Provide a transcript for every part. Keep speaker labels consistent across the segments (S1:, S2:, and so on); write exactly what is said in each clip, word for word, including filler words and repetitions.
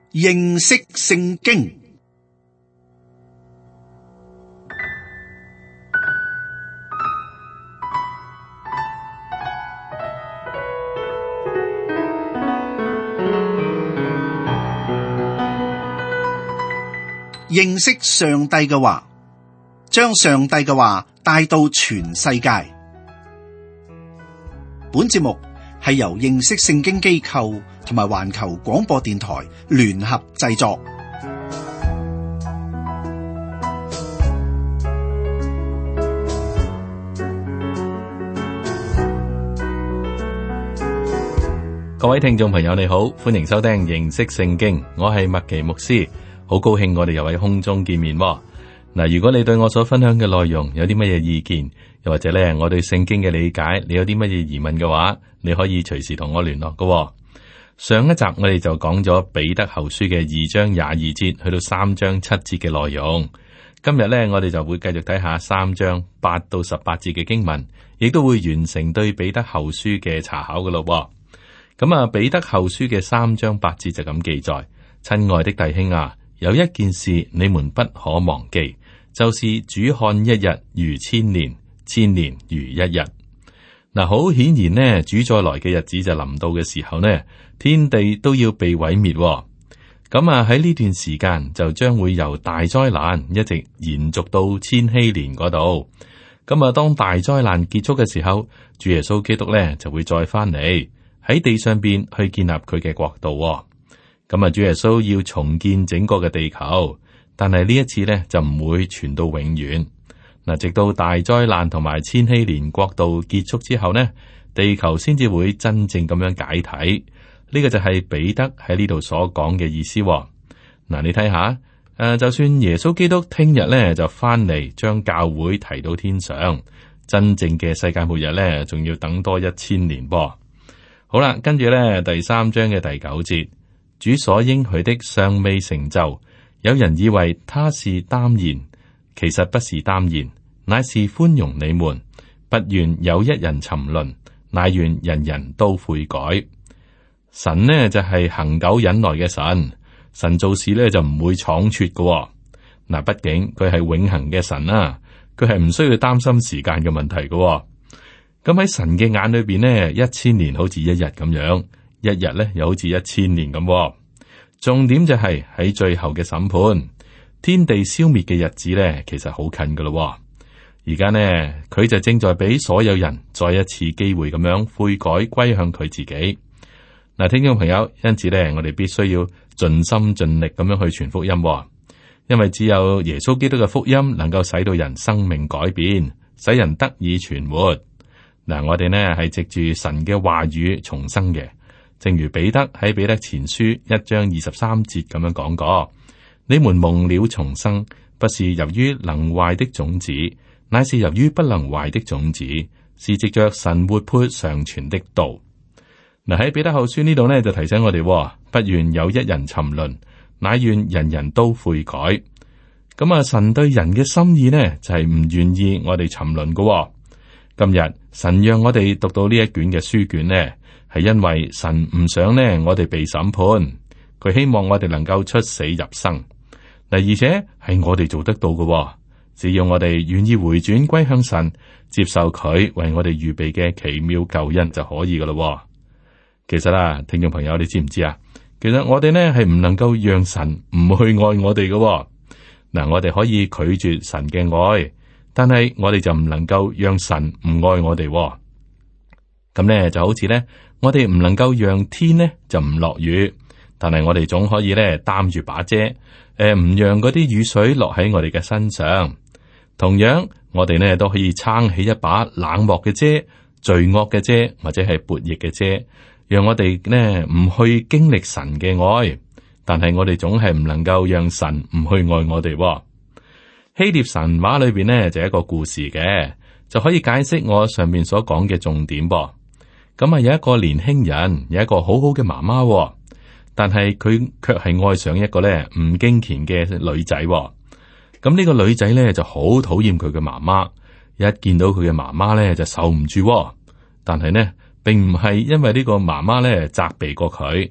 S1: 認識聖經。認識上帝嘅話，將上帝嘅話帶到全世界。本節目係由認識聖經機構同埋環球廣播電台聯合製作。
S2: 各位聽眾朋友，你好，歡迎收聽認識聖經，我係麥奇牧師。好高興我哋又喺空中見面喎。嗱，如果你對我所分享嘅內容有啲乜嘢意見，又或者咧我對聖經嘅理解，你有啲乜嘢疑問嘅話，你可以隨時同我聯絡㗎喎。上一集我哋就講咗彼得後書嘅二章廿二節去到三章七節嘅內容。今日咧我哋就會繼續睇下三章八到十八節嘅經文，亦都會完成對彼得後書嘅查考㗎咯喎。咁啊，彼得後書嘅三章八節就咁記載：親愛的弟兄啊，有一件事你們不可忘記，就是主看一日如千年，千年如一日。嗱，好顯然呢，主再來嘅日子就臨到嘅時候呢，天地都要被毀滅。咁啊，喺呢段時間就將會由大災難一直延續到千禧年嗰度。咁啊，當大災難結束嘅時候，主耶穌基督呢就會再翻嚟喺地上邊去建立佢嘅國度。咁啊，主耶穌要重建整個嘅地球，但係呢一次呢就唔會傳到永遠。嗱，直到大災難同埋千禧年國度結束之後呢，地球先至會真正咁樣解體。呢個就係彼得喺呢度所講嘅意思。嗱，你睇下，誒，就算耶穌基督聽日呢就翻嚟將教會提到天上，真正嘅世界末日呢仲要等多一千年噃。好啦，跟住呢第三章嘅第九節。主所應許的尚未成就，有人以為他是耽延，其實不是耽延，乃是寬容你們，不願有一人沉淪，乃願人人都悔改。神呢就係恆久忍耐嘅神，神做事呢就唔會倉促嘅。嗱，畢竟佢係永恆嘅神啦，佢係唔需要擔心時間嘅問題嘅。咁喺神嘅眼裏邊呢，一千年好似一日咁樣。一日咧又好似一千年咁，重點就係喺最後嘅審判，天地消滅嘅日子咧，其實好近噶咯。而家呢，佢就正在俾所有人再一次機會咁樣悔改歸向佢自己。嗱，聽眾朋友，因此咧，我哋必須要盡心盡力咁樣去傳福音，因為只有耶穌基督嘅福音能夠使到人生命改變，使人得以存活。嗱，我哋呢係藉住神嘅話語重生嘅。正如彼得喺彼得前書一章二十三節咁樣講過：你們蒙了重生，不是由於能壞的種子，乃是由於不能壞的種子，是藉着神活潑常存的道。嗱，喺彼得後書呢度呢，就提醒我哋，不願有一人沉淪，乃願人人都悔改。咁啊，神對人嘅心意呢，就係唔願意我哋沉淪嘅。今日神讓我哋讀到呢一卷嘅書卷呢，係因為神唔想呢，我哋被審判，佢希望我哋能夠出死入生。嗱，而且係我哋做得到嘅，只要我哋願意回轉歸向神，接受佢為我哋預備嘅奇妙救恩就可以噶啦。其實啊，聽眾朋友，你知唔知啊？其實我哋呢係唔能夠讓神唔去愛我哋嘅。嗱，我哋可以拒絕神嘅愛，但係我哋就唔能夠讓神唔愛我哋。咁呢就好似呢。我哋唔能夠讓天呢就唔落雨，但係我哋總可以咧擔住把遮，誒、呃、唔讓嗰啲雨水落喺我哋嘅身上。同樣，我哋呢都可以撐起一把冷漠嘅遮、罪惡嘅遮或者係悖逆嘅遮，讓我哋呢唔去經歷神嘅愛。但係我哋總係唔能夠讓神唔去愛我哋。希臘神話裏邊呢就係一個故事嘅，就可以解釋我上面所講嘅重點噃。咁啊，有一個年輕人，有一個好好嘅媽媽，但係佢卻係愛上一個咧唔敬虔嘅女仔。咁呢個女仔咧就好討厭佢嘅媽媽，一見到佢嘅媽媽咧就受唔住。但係呢，並唔係因為呢個媽媽咧責備過佢，而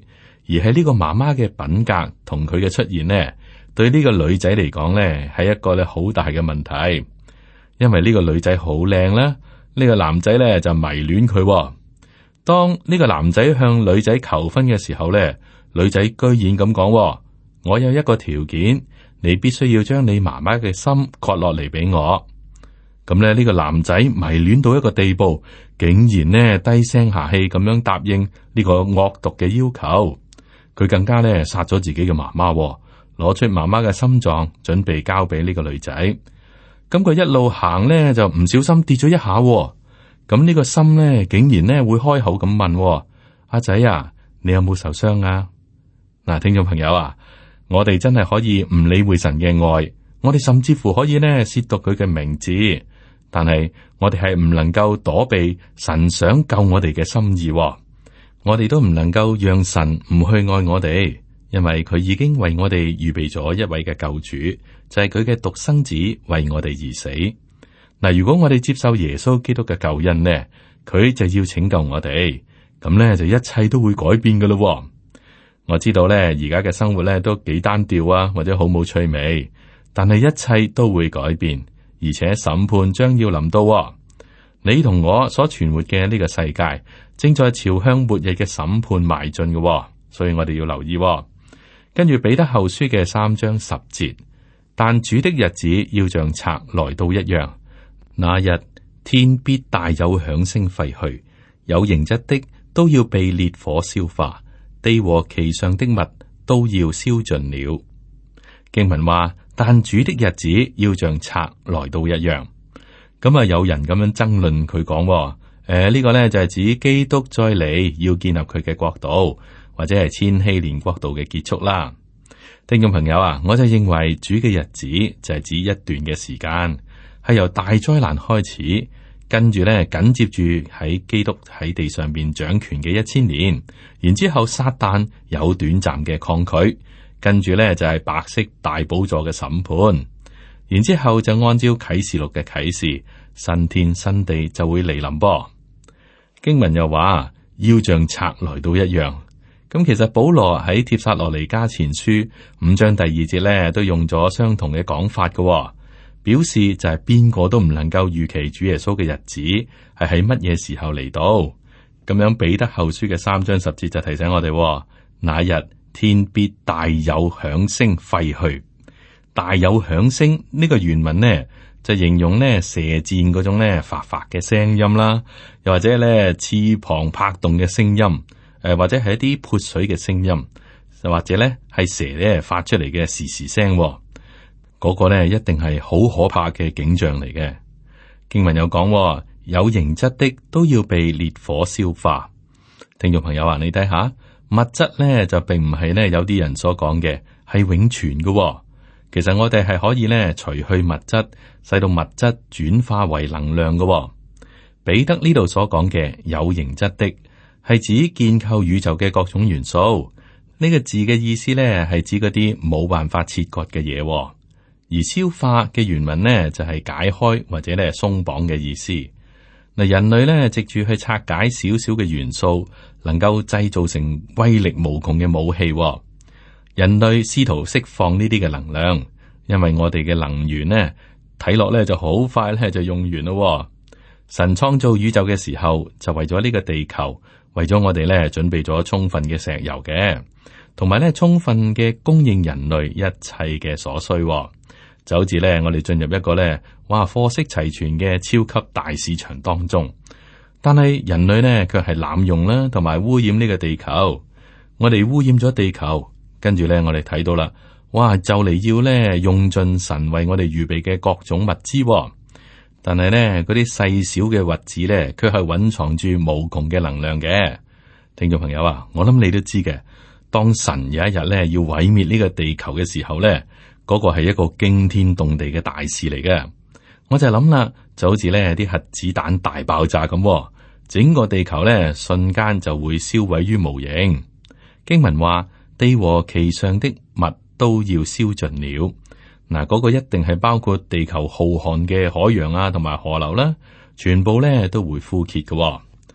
S2: 而係呢個媽媽嘅品格同佢嘅出現呢，對呢個女仔嚟講呢，係一個咧好大嘅問題。因為呢個女仔好靚啦，呢個男仔咧就迷戀佢。當呢個男仔向女仔求婚嘅時候咧，女仔居然咁講：我有一個條件，你必須要將你媽媽嘅心割落嚟俾我。咁咧呢個男仔迷戀到一個地步，竟然呢低聲下氣咁樣答應呢個惡毒嘅要求。佢更加咧殺咗自己嘅媽媽，攞出媽媽嘅心臟，準備交俾呢個女仔。咁佢一路行咧就唔小心跌咗一下，咁呢個心咧竟然咧會開口咁問：阿仔啊，你有冇受傷啊？嗱，聽眾朋友啊，我哋真係可以唔理會神嘅愛，我哋甚至乎可以咧褻瀆佢嘅名字，但係我哋係唔能夠躲避神想救我哋嘅心意，我哋都唔能夠讓神唔去愛我哋，因為佢已經為我哋預備咗一位嘅救主，就係佢嘅獨生子為我哋而死。嗱，如果我哋接受耶穌基督嘅救恩呢，佢就要拯救我哋，咁呢就一切都會改變噶咯。我知道呢，而家嘅生活呢都幾單調啊，或者好冇趣味，但係一切都會改變，而且審判將要臨到。你同我所存活嘅呢個世界，正在朝向末日嘅審判邁進嘅，所以我哋要留意。跟住彼得後書嘅三章十節，但主的日子要像賊來到一樣，那日天必大有響聲廢去，有形質的都要被烈火消化，地和其上的物都要燒盡了。經文話，但主的日子要像賊來到一樣。咁啊，有人咁樣爭論佢講，誒、呃，呢、這個呢就係指基督再嚟要建立佢嘅國度，或者係千禧年國度嘅結束啦。聽眾朋友啊，我就認為主嘅日子就係指一段嘅時間，係由大災難開始，跟住呢緊接住喺基督喺地上邊掌權嘅一千年，然之後撒旦有短暫嘅抗拒，跟住呢就係白色大寶座嘅審判。然之後就按照啟示錄嘅啟示，新天新地就會嚟臨噃。經文又話要像賊來到一樣。咁其實保羅喺帖撒羅尼迦前書五章第二節咧，都用咗相同嘅講法嘅，表示就係邊個都唔能夠預期主耶穌嘅日子係喺乜嘢時候嚟到。咁樣彼得後書嘅三章十節就提醒我哋，那日天必大有響聲廢去。大有響聲呢個原文呢，就形容呢射箭嗰種呢發發嘅聲音啦，又或者呢翅膀拍動嘅聲音，誒、呃、或者係一啲潑水嘅聲音，又或者呢係蛇咧發出嚟嘅時時聲，嗰、那個呢一定係好可怕嘅景象嚟嘅。經文有講，有形質的都要被烈火消化。聽眾朋友啊，你睇下物質呢，就並唔係呢有啲人所講嘅係永存嘅。其實我哋係可以咧除去物質，使到物質轉化為能量嘅、哦。彼得呢度所講嘅有形質的，係指建構宇宙嘅各種元素。呢、這個字嘅意思咧係指嗰啲冇辦法切割嘅嘢、哦，而消化嘅原文呢，就係、是、解開或者咧鬆綁嘅意思。嗱，人類咧藉住去拆解少少嘅元素，能夠製造成威力無窮嘅武器、哦。人類試圖釋放呢啲嘅能量，因為我哋嘅能源呢睇落咧就好快咧就用完咯。神創造宇宙嘅時候，就為咗呢個地球，為咗我哋咧準備咗充分嘅石油嘅，同埋咧充分嘅供應人類一切嘅所需。就好似咧我哋進入一個咧哇貨色齊全嘅超級大市場當中，但係人類呢卻係濫用啦，同埋污染呢個地球。我哋污染咗地球。跟住咧，我哋睇到啦，哇！就嚟要咧用盡神為我哋預備嘅各種物資、哦，但係咧嗰啲細小嘅物質咧，卻係蘊藏住無窮嘅能量嘅。聽眾朋友啊，我諗你都知嘅，當神有一日咧要毀滅呢個地球嘅時候咧，嗰、嗰個係一個驚天動地嘅大事嚟嘅。我就諗啦，就好似咧啲核子彈大爆炸咁、哦，整個地球咧瞬間就會燒毀於無形。經文話，地和其上的物都要燒盡了。嗱，嗰個一定係包括地球浩瀚嘅海洋啊，同埋河流啦，全部咧都會枯竭嘅。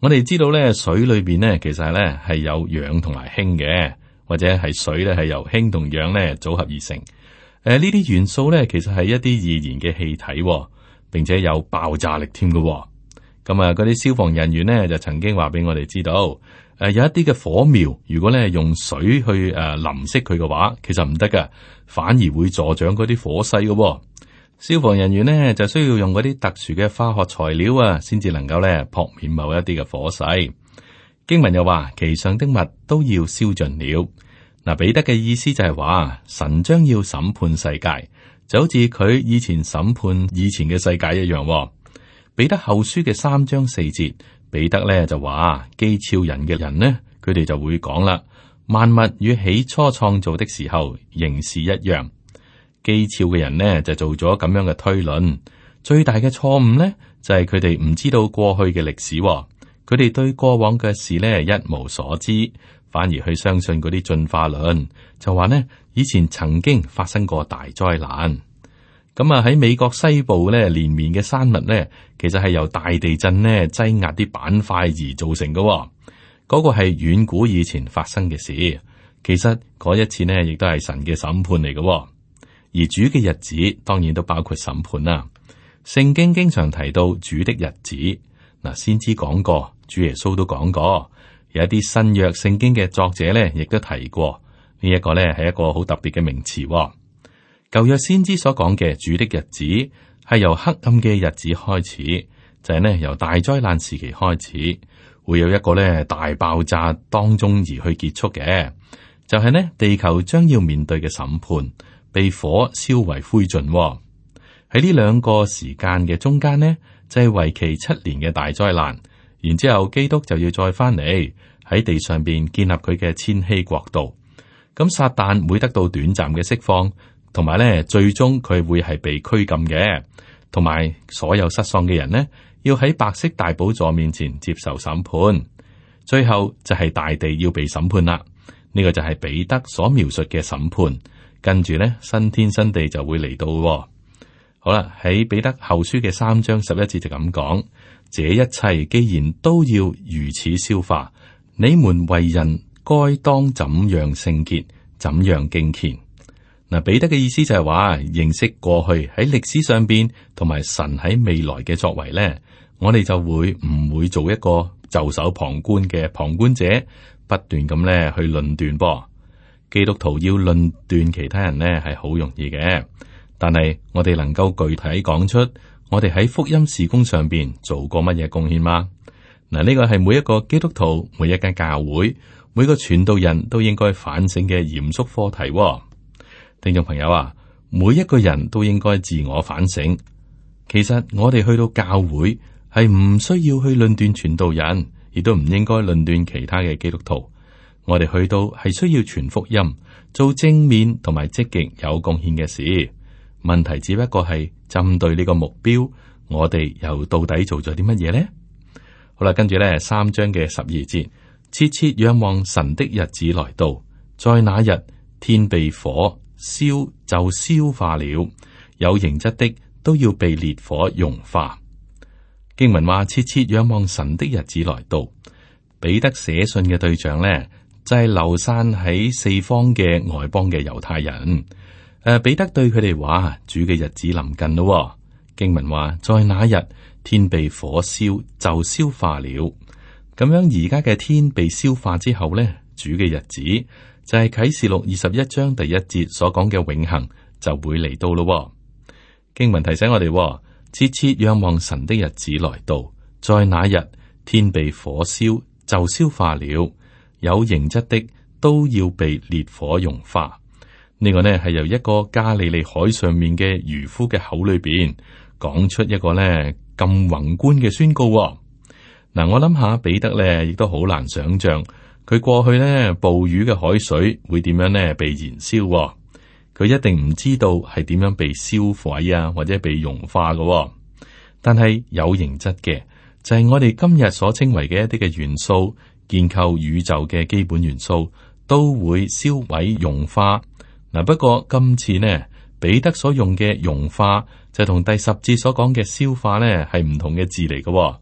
S2: 我哋知道咧，水裏邊咧其實咧係有氧同埋氫嘅，或者係水咧係由氫同氧咧組合而成。誒、呃，呢啲元素咧其實係一啲易燃嘅氣體、哦，並且有爆炸力添嘅。咁啊，嗰啲消防人員咧就曾經話俾我哋知道，誒、呃，有一啲嘅火苗，如果咧用水去誒、呃、淋熄佢嘅話，其實唔得噶，反而會助長嗰啲火勢嘅、哦。消防人員呢就需要用嗰啲特殊嘅化學材料啊，先至能夠咧撲滅某一啲嘅火勢。經文又話，其上的物都要燒盡了。嗱，彼得嘅意思就係話，神將要審判世界，就好似佢以前審判以前嘅世界一樣。彼得後書嘅三章四節，彼得咧就話，譏誚人嘅人呢，佢哋就會講啦，萬物與起初創造的時候仍是一樣。譏誚嘅人呢，就做咗咁樣嘅推論，最大嘅錯誤呢，就係佢哋唔知道過去嘅歷史，佢哋對過往嘅事呢一無所知，反而去相信嗰啲進化論，就話呢以前曾經發生過大災難。咁啊喺美國西部呢連綿嘅山脈呢，其實係由大地震呢擠壓啲板塊而造成嘅，嗰、嗰個係遠古以前發生嘅事。其實嗰一次呢，亦都係神嘅審判嚟嘅。而主嘅日子當然都包括審判啦。聖經經常提到主的日子，嗱，先知講過，主耶穌都講過，有一啲新約聖經嘅作者咧，亦都提過呢一個咧係一個好特別嘅名詞。舊約先知所講嘅主的日子係由黑暗嘅日子開始，就係呢由大災難時期開始，會有一個咧大爆炸當中而去結束嘅，就係呢地球將要面對嘅審判。被火燒為灰燼喎。喺呢兩個時間嘅中間呢，就係為期七年嘅大災難。然之後基督就要再翻嚟喺地上邊建立佢嘅千禧國度。咁撒旦會得到短暫嘅釋放，同埋咧最終佢會係被拘禁嘅，同埋所有失喪嘅人呢，要喺白色大寶座面前接受審判。最後就係大地要被審判啦。呢個就係彼得所描述嘅審判。跟住咧，新天新地就會嚟到喎。好啦，喺彼得後書嘅三章十一節就咁講：這一切既然都要如此消化，你們為人該當怎樣聖潔，怎樣敬虔。嗱，彼得嘅意思就係話，認識過去喺歷史上邊，同埋神喺未來嘅作為咧，我哋就會唔會做一個袖手旁觀嘅旁觀者，不斷咁咧去論斷噃。基督徒要論斷其他人呢係好容易嘅，但係我哋能夠具體講出我哋喺福音事工上邊做過乜嘢貢獻嗎？嗱，呢個係每一個基督徒、每一間教會、每個傳道人都應該反省嘅嚴肅課題喎。聽眾朋友啊，每一個人都應該自我反省。其實我哋去到教會係唔需要去論斷傳道人，亦都唔應該論斷其他嘅基督徒。我哋去到係需要傳福音，做正面同埋積極有貢獻嘅事。問題只不過係針對呢個目標，我哋又到底做咗啲乜嘢呢？好啦，跟住咧三章嘅十二節，切切仰望神的日子來到，在那日天被火燒就消化了，有形質的都要被烈火融化。經文話切切仰望神的日子來到，彼得寫信嘅對象呢，就係流散喺四方嘅外邦嘅猶太人。誒，彼得對佢哋話：主嘅日子臨近咯。經文話，在那日天被火燒就消化了。咁樣而家嘅天被消化之後呢，主嘅日子就係啟示錄二十一章第一節所講嘅永恆就會嚟到咯。經文提醒我哋，切切仰望神的日子來到，在那日天被火燒就消化了，有形質的都要被烈火融化。呢個呢係由一個加利利海上面嘅漁夫嘅口裏邊講出一個呢咁宏觀嘅宣告。嗱，我諗下彼得呢亦都好難想象佢過去呢捕魚嘅海水會點樣呢被燃燒。佢一定唔知道係點樣被燒毀啊，或者被融化嘅。但係有形質嘅就係我哋今日所稱為嘅一啲嘅元素，建構宇宙嘅基本元素都會燒毀融化。嗱，不過今次呢，彼得所用嘅融化就同第十節所講嘅消化呢係唔同嘅字嚟嘅。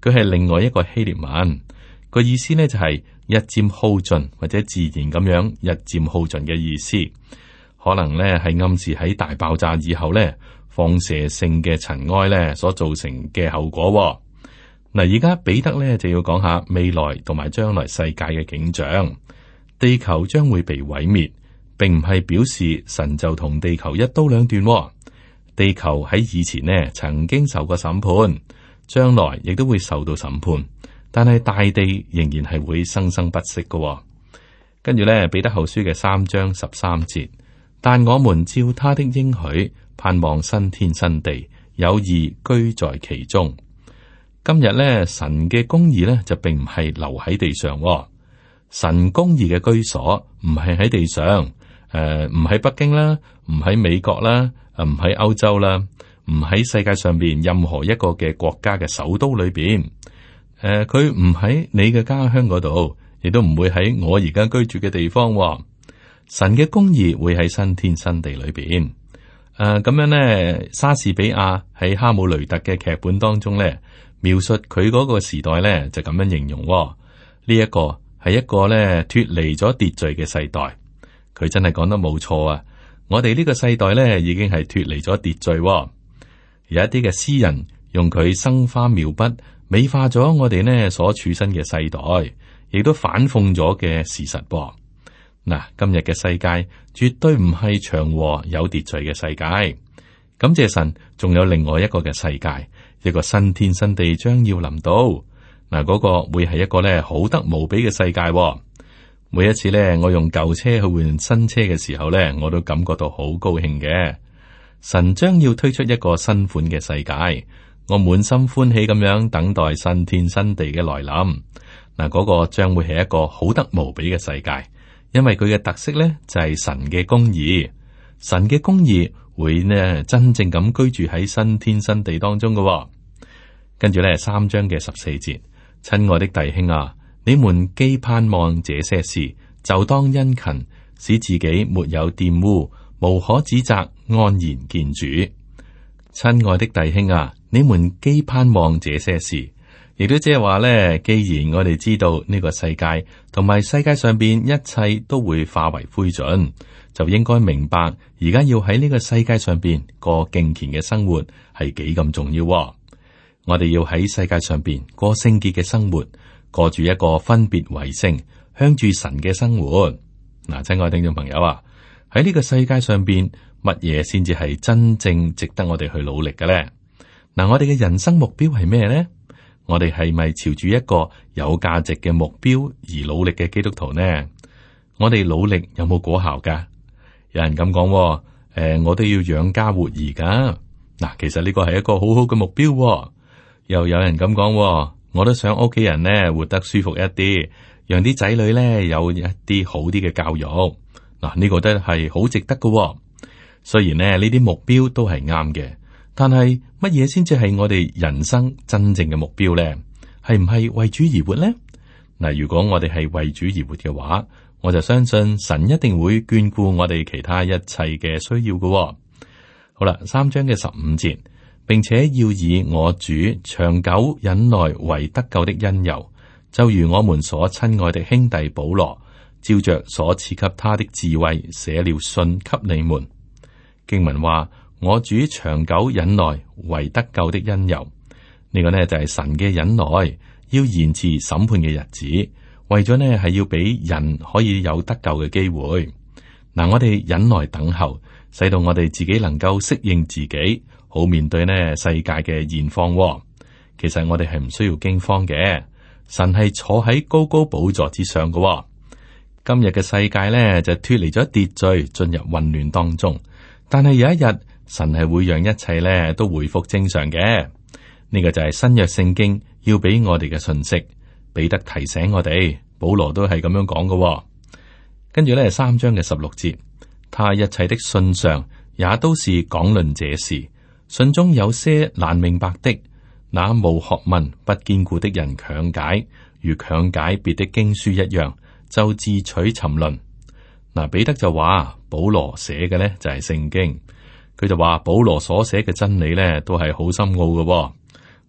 S2: 佢係另外一個希臘文，個意思呢就係日漸耗盡或者自然咁樣日漸耗盡嘅意思。可能呢係暗示喺大爆炸以後呢，放射性嘅塵埃呢所造成嘅後果。嗱，而家彼得呢就要講下未來同埋將來世界嘅景象。地球將會被毀滅，並唔係表示神就同地球一刀兩斷。地球喺以前呢曾經受過審判，將來亦都會受到審判，但係大地仍然係會生生不息嘅。跟住呢，彼得後書嘅三章十三節，但我們照他的應許，盼望新天新地，有義居在其中。今日呢，神嘅公義呢就並唔係留喺地上。神公義嘅居所唔係喺地上，誒唔喺北京啦，唔喺美國啦，誒唔喺歐洲啦，唔喺世界上邊任何一個嘅國家嘅首都裏邊，誒佢唔喺你嘅家鄉嗰度，亦都唔會喺我而家居住嘅地方。神嘅公義會喺新天新地裏邊。誒、呃、咁樣呢，莎士比亞喺哈姆雷特嘅劇本當中呢，描述佢嗰個時代呢，就咁樣形容呢一、這個。係一個咧脫離咗秩序嘅世代，佢真係講得冇錯啊！我哋呢個世代咧已經係脫離咗秩序，有一啲嘅詩人用佢生花妙筆美化咗我哋呢所處身嘅世代，亦都反諷咗嘅事實噃。嗱，今日嘅世界絕對唔係祥和有秩序嘅世界。感謝神，仲有另外一個嘅世界，一個新天新地將要臨到。嗱，嗰個會係一個咧好得無比嘅世界。每一次咧，我用舊車去換新車嘅時候咧，我都感覺到好高興嘅。神將要推出一個新款嘅世界，我滿心歡喜咁樣等待新天新地嘅來臨。嗱，嗰個將會係一個好得無比嘅世界，因為佢嘅特色咧就係神嘅公義。神嘅公義會呢真正咁居住喺新天新地當中嘅。跟住咧，三章嘅十四節。親愛的弟兄啊，你們既盼望這些事，就當殷勤，使自己沒有玷污，無可指責，安然見主。親愛的弟兄啊，你們既盼望這些事，亦都即係話咧，既然我哋知道呢個世界同埋世界上邊一切都會化為灰燼，就應該明白而家要喺呢個世界上邊過敬虔嘅生活係幾咁重要。我哋要喺世界上邊過聖潔嘅生活，過住一個分別為聖、向住神嘅生活。嗱，親愛聽眾朋友啊，喺呢個世界上邊，乜嘢先至係真正值得我哋去努力嘅咧？嗱，我哋嘅人生目標係咩咧？我哋係咪朝住一個有價值嘅目標而努力嘅基督徒呢？我哋努力有冇果效噶？有人咁講，誒、呃，我都要養家活兒噶。嗱，其實呢個係一個好好嘅目標。又有人咁講，我都想屋企人咧活得舒服一啲，讓啲仔女咧有一啲好啲嘅教育。嗱，呢個都係好值得嘅。雖然咧呢啲目標都係啱嘅，但係乜嘢先至係我哋人生真正嘅目標咧？係唔係為主而活咧？嗱，如果我哋係為主而活嘅話，我就相信神一定會眷顧我哋其他一切嘅需要嘅。好啦，三章嘅十五節。並且要以我主長久忍耐為得救的因由，就如我們所親愛的兄弟保羅，照着所賜給他的智慧寫了信給你們。經文話：我主長久忍耐為得救的因由，呢、這個呢就係神嘅忍耐，要延遲審判嘅日子，為咗呢係要俾人可以有得救嘅機會。嗱，我哋忍耐等候，使到我哋自己能夠適應自己。好面對呢世界嘅現況，其實我哋係唔需要驚慌嘅。神係坐喺高高寶座之上嘅。今日嘅世界呢就脫離咗秩序，進入混亂當中。但係有一日，神係會讓一切呢都回復正常嘅。呢、這個就係新約聖經要俾我哋嘅信息，彼得提醒我哋，保羅都係咁樣講嘅。跟住呢三章嘅十六節，他一切的信上也都是講論這事。信中有些難明白的，那無學問不堅固的人強解，如強解別的經書一樣，就自取沉淪。嗱，彼得就話保羅寫嘅呢就係聖經，佢就話保羅所寫嘅真理呢都係好深奧嘅。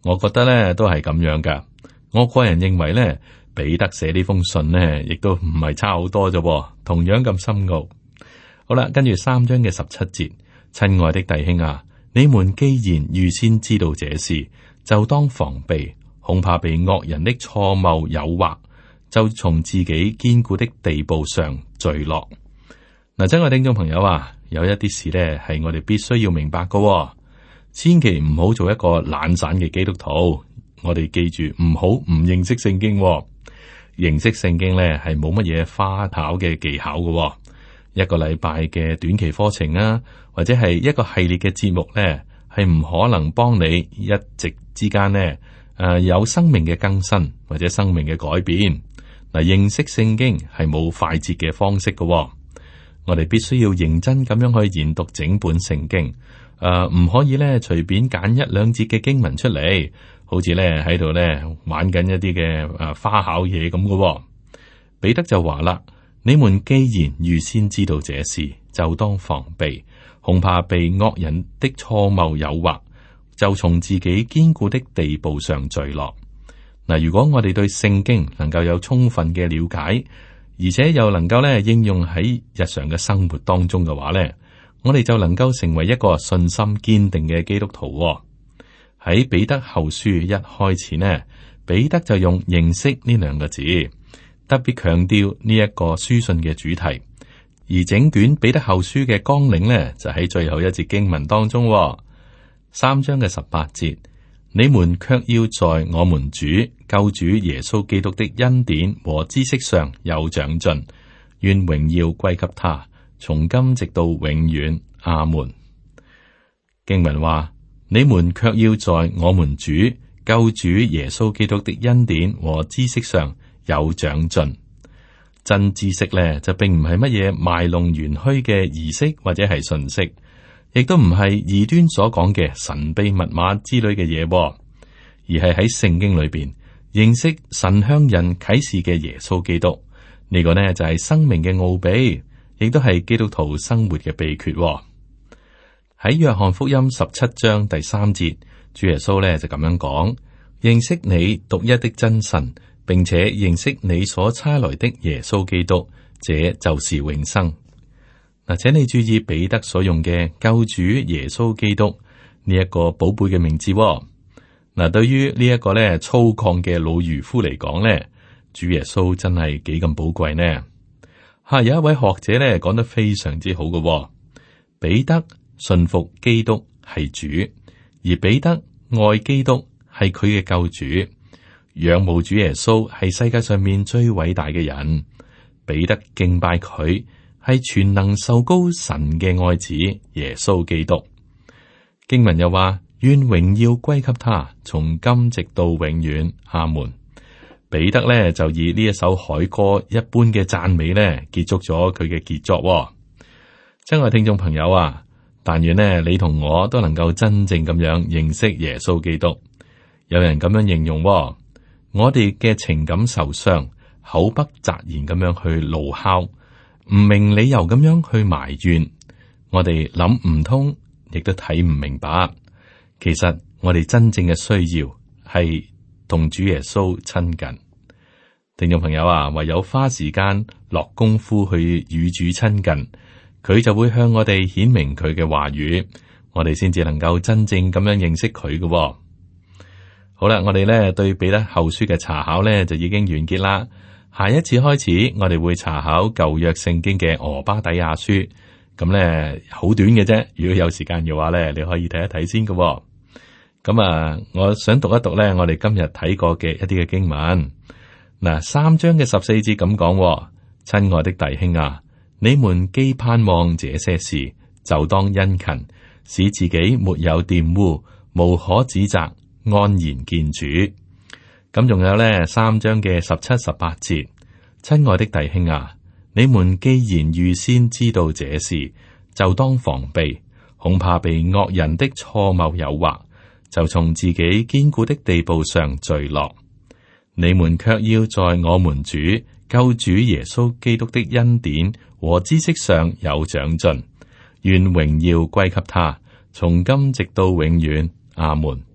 S2: 我覺得咧都係咁樣噶。我個人認為咧，彼得寫呢封信呢，亦都唔係差好多啫，同樣咁深奧。好啦，跟住三章嘅十七節，親愛的弟兄啊，你們既然預先知道這事，就當防備，恐怕被惡人的錯謬誘惑，就從自己堅固的地步上墜落。嗱，親愛聽眾朋友啊，有一啲事呢係我哋必須要明白㗎，千祈唔好做一個懶散嘅基督徒。我哋記住唔好唔認識聖經，認識聖經咧係冇乜嘢花巧嘅技巧嘅。一個禮拜嘅短期課程啊，或者係一個系列嘅節目咧，係唔可能幫你一直之間呢誒、呃、有生命嘅更新或者生命嘅改變。嗱，認識聖經係冇快捷嘅方式嘅。我哋必須要認真咁樣去研讀整本聖經，誒、呃、唔可以咧隨便揀一兩節嘅經文出嚟。好似咧喺度咧玩緊一啲嘅誒花巧嘢咁嘅。彼得就話啦：你們既然預先知道這事，就當防備，恐怕被惡人的錯謬誘惑，就從自己堅固的地步上墜落。嗱，如果我哋對聖經能夠有充分嘅了解，而且又能夠咧應用喺日常嘅生活當中嘅話咧，我哋就能夠成為一個信心堅定嘅基督徒。喺彼得後書一開始呢，彼得就用認識呢兩個字，特別強調呢一個書信嘅主題。而整卷彼得後書嘅綱領呢，就喺最後一節經文當中，三章嘅十八節，你們卻要在我們主救主耶穌基督的恩典和知識上有長進，願榮耀歸給他，從今直到永遠。阿門。經文話，你們卻要在我們主救主耶穌基督的恩典和知識上有長進。真知識咧，就並唔係乜嘢賣弄玄虛嘅儀式或者係信息，亦都唔係異端所講嘅神秘密碼之類嘅嘢，而係喺聖經裏邊認識神向人啟示嘅耶穌基督。呢、這個呢就係生命嘅奧秘，亦都係基督徒生活嘅秘訣。喺約翰福音十七章第三節，主耶穌咧就咁樣講：認識你獨一的真神，並且認識你所差來的耶穌基督，這就是永生。嗱，請你注意彼得所用嘅救主耶穌基督呢一個寶貝嘅名字。嗱，對於呢一個咧粗獷嘅老漁夫嚟講咧，主耶穌真係幾咁寶貴呢？吓，有一位學者咧講得非常之好嘅，彼得信服基督係主，而彼得愛基督係佢嘅救主，仰慕主耶穌係世界上面最偉大嘅人。彼得敬拜佢係全能受膏神嘅愛子耶穌基督。經文又話：願榮耀歸給他，從今直到永遠。阿門。彼得咧就以呢一首凱歌一般嘅讚美咧結束咗佢嘅傑作。親愛聽眾朋友啊，但願呢你同我都能夠真正咁樣認識耶穌基督。有人咁樣形容，我哋嘅情感受傷，口不擇言咁樣去怒哮，唔明理由咁樣去埋怨，我哋諗唔通，亦都睇唔明白。其實我哋真正嘅需要係同主耶穌親近。聽眾朋友啊，唯有花時間落功夫去與主親近，佢就會向我哋顯明佢嘅話語，我哋先至能夠真正咁樣認識佢嘅。好啦，我哋咧對彼得後書嘅查考咧就已經完結啦。下一次開始，我哋會查考舊約聖經嘅俄巴底亞書，咁咧好短嘅啫。如果有時間嘅話咧，你可以睇一睇先嘅。咁啊，我想讀一讀咧，我哋今日睇過嘅一啲嘅經文。嗱，三章嘅十四節咁講：親愛的弟兄啊，你們既盼望這些事，就當殷勤，使自己沒有玷污，無可指責，安然見主。咁仲有咧，三章嘅十七、十八節，親愛的弟兄啊，你們既然預先知道這事，就當防備，恐怕被惡人的錯謬誘惑，就從自己堅固的地步上墜落。你們卻要在我們主救主耶穌基督的恩典和知識上有長進，願榮耀歸給他，從今直到永遠。阿門。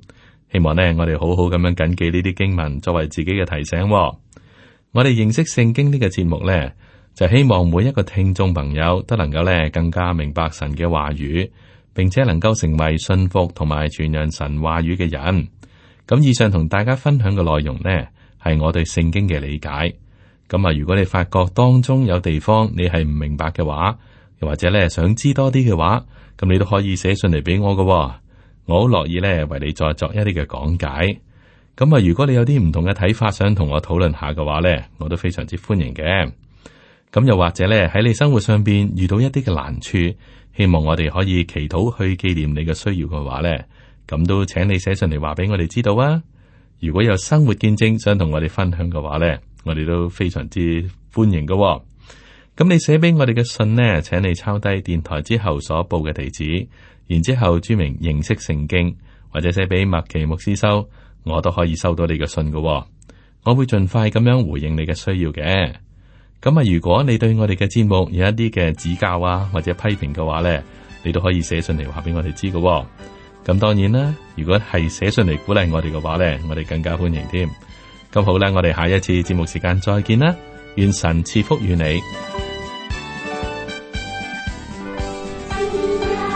S2: 希望呢，我哋好好咁樣謹記呢啲經文，作為自己嘅提醒喎。我哋認識聖經呢個節目呢，就希望每一個聽眾朋友都能夠呢更加明白神嘅話語，並且能夠成為信服同埋傳揚神話語嘅人。咁以上同大家分享嘅內容呢，係我對聖經嘅理解。咁啊，如果你發覺當中有地方你係唔明白嘅話，又或者咧想知多啲嘅話，咁你都可以寫信嚟俾我㗎喎。我好樂意咧為你再作一啲嘅講解。咁啊，如果你有啲唔同嘅睇法，想同我討論下嘅話咧，我都非常之歡迎嘅。咁又或者咧喺你生活上邊遇到一啲嘅難處，希望我哋可以祈禱去紀念你嘅需要嘅話咧，咁都請你寫信嚟話俾我哋知道啊。如果有生活見證想同我哋分享嘅話咧，我哋都非常之歡迎㗎喎。咁你寫俾我哋嘅信呢，請你抄低電台之後所報嘅地址，然之後注明認識聖經，或者寫俾麥奇牧師收，我都可以收到你嘅信㗎喎。我會盡快咁樣回應你嘅需要嘅。咁啊，如果你對我哋嘅節目有一啲嘅指教啊，或者批評嘅話呢，你都可以寫信嚟話俾我哋知㗎喎。咁當然啦，如果係寫信嚟鼓勵我哋嘅話呢，我哋更加歡迎添。咁好啦，我哋下一次節目時間再見啦，願神賜福於你。